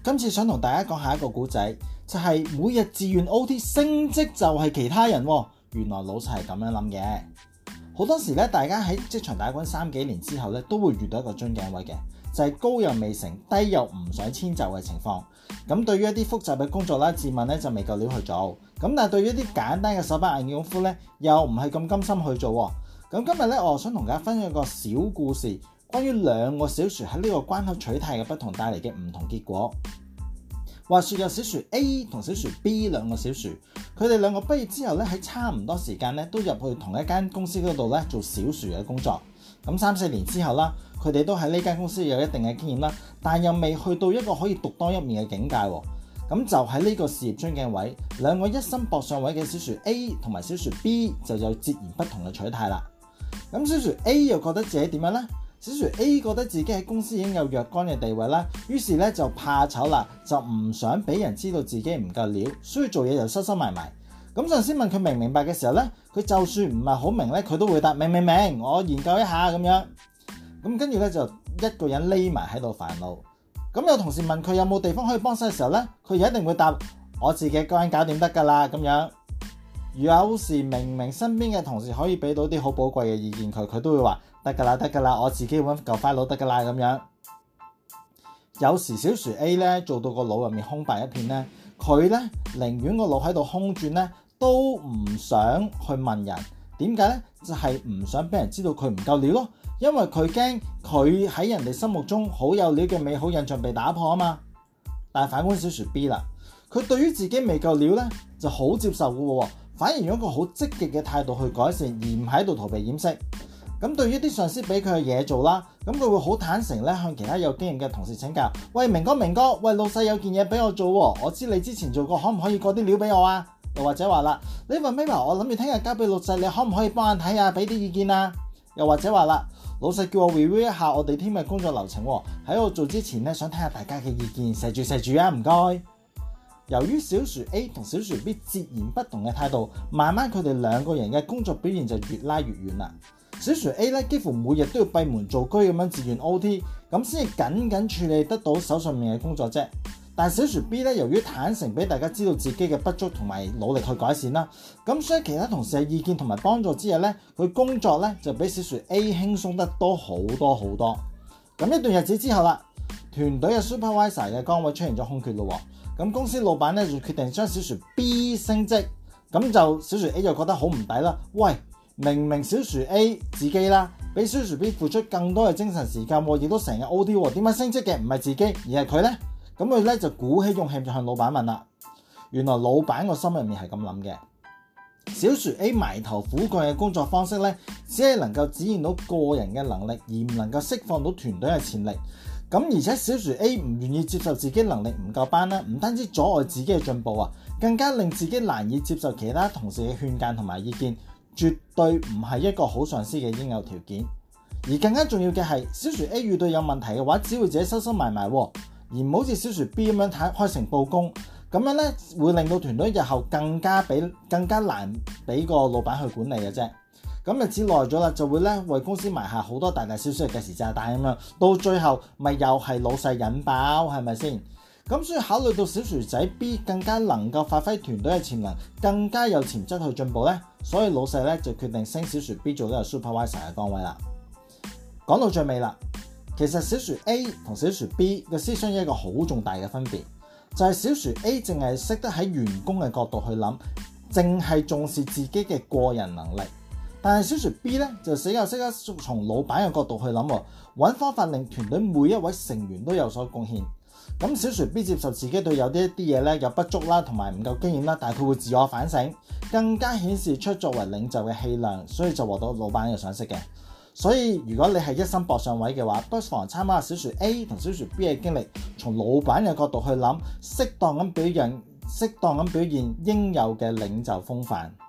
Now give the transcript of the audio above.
今次想同大家講下一個故仔，就係每日自願 OT 升職就係其他人喎。原來老細係咁樣諗嘅。好多時咧，大家喺職場打滾3幾年之後咧，都會遇到一個樽頸位嘅，就係高又未成，低又唔想遷就嘅情況。咁對於一啲複雜嘅工作啦，自問咧就未夠料去做。咁但係對於一啲簡單嘅手板眼見功夫咧，又唔係咁甘心去做。咁今日咧，我想同大家分享一個小故事，關於2個小薯喺呢個關口取態嘅不同帶嚟嘅唔同結果。話說有小薯 A 同小薯 B 2個小薯，佢哋2個畢業之後咧，喺差唔多時間咧都入去同一間公司嗰度咧做小薯嘅工作。咁3、4年之後啦，佢哋都喺呢間公司有一定嘅經驗啦，但又未去到一個可以獨當一面嘅境界。咁就喺呢個事業樽頸位，2個一心搏上位嘅小薯 A 同埋小薯 B 就有截然不同嘅取態啦。咁小薯 A 又覺得自己點樣呢？小薯 A 覺得自己喺公司已經有若干嘅地位啦，於是咧就怕醜啦，就唔想俾人知道自己唔夠料，所以做嘢就收收埋埋。咁上司問佢明唔明白嘅時候咧，佢就算唔係好明咧，佢都會答明，我研究一下咁樣。咁跟住咧就一個人匿埋喺度煩惱。咁有同事問佢有冇地方可以幫手嘅時候咧，佢一定會答我自己一個人搞掂得㗎啦咁樣。有時明明身邊嘅同事可以俾到啲好寶貴嘅意見佢都會話得㗎啦，我自己揾嚿 file 得㗎啦咁樣。有時小薯 A 咧做到個腦入面空白一片咧，佢咧寧願個腦喺度空轉咧，都唔想去問人。點解咧？就係唔想俾人知道佢唔夠料咯，因為佢驚佢喺人哋心目中好有料嘅美好印象被打破啊嘛。但係反觀小薯 B 啦，佢對於自己未夠料咧就好接受嘅喎，反而用一個好積極嘅態度去改善，而唔喺度逃避掩飾。咁對於啲上司俾佢嘅嘢做啦，咁佢會好坦誠咧向其他有經驗嘅同事請教。喂，明哥，喂，老細有件嘢俾我做喎，我知你之前做過，可唔可以過啲料俾我啊？又或者話啦，呢份 memo 我諗住聽日交俾老細，你可唔可以幫我睇下，俾啲意見啊？又或者話啦，老細叫我 review 一下我哋 team 嘅工作流程喎，喺我做之前咧想聽下大家嘅意見，錫住啊，唔該。由於小薯 A 同小薯 B 截然不同嘅態度，慢慢佢哋2個人嘅工作表現就越拉越遠啦。小薯 A 咧幾乎每日都要閉門造車咁樣自願 OT， 咁先至僅處理得到手上面嘅工作啫。但係小薯 B 咧，由於坦誠俾大家知道自己嘅不足同埋努力去改善啦，咁所以其他同事嘅意見同埋幫助之下咧，佢工作咧就比小薯 A 輕鬆得多好多。咁一段日子之後啦，團隊嘅 supervisor 嘅崗位出現咗空缺咯。咁公司老闆咧就決定將小薯 B 升職，咁就小薯 A 就覺得好唔抵啦。喂，明小薯 A 自己啦，比小薯 B 付出更多嘅精神時間，亦都成日 OT， 點解升職嘅唔係自己而係佢呢？咁佢咧就鼓起勇氣就向老闆問啦。原來老闆個心入面係咁諗嘅，小薯 A 埋頭苦幹嘅工作方式咧，只係能夠展現到個人嘅能力，而唔能夠釋放到團隊嘅潛力。咁而且小薯 A 唔願意接受自己能力唔夠班啦，唔單止阻礙自己嘅進步啊，更加令自己難以接受其他同事嘅勸諫同埋意見，絕對唔係一個好上司嘅應有條件。而更加重要嘅係，小薯 A 遇到有問題嘅話，只會自己收埋，而唔好似小薯 B 咁樣開誠佈公，咁樣咧會令到團隊日後更加難俾個老闆去管理嘅啫。咁日子耐咗啦，就會咧為公司埋下好多大小嘅計時炸彈咁樣，到最後咪又係老細引爆，係咪先？咁所以考慮到小薯仔 B 更加能夠發揮團隊嘅潛能，更加有潛質去進步咧，所以老細咧就決定升小薯 B 做呢個 supervisor 嘅崗位啦。講到最尾啦，其實小薯 A 同小薯 B 嘅思想有一個好重大嘅分別，就係小薯 A 淨係識得喺員工嘅角度去諗，淨係重視自己嘅個人能力。但係小薯 B 咧就識得從老闆嘅角度去諗，揾方法令團隊每一位成員都有所貢獻。咁小薯 B 接受自己對有啲嘢咧有不足啦，同埋唔夠經驗啦，但係佢會自我反省，更加顯示出作為領袖嘅氣量，所以就獲得老闆嘅賞識嘅。所以如果你係一心搏上位嘅話，不妨參考下小薯 A 同小薯 B 嘅經歷，從老闆嘅角度去諗，適當咁表現應有嘅領袖風範。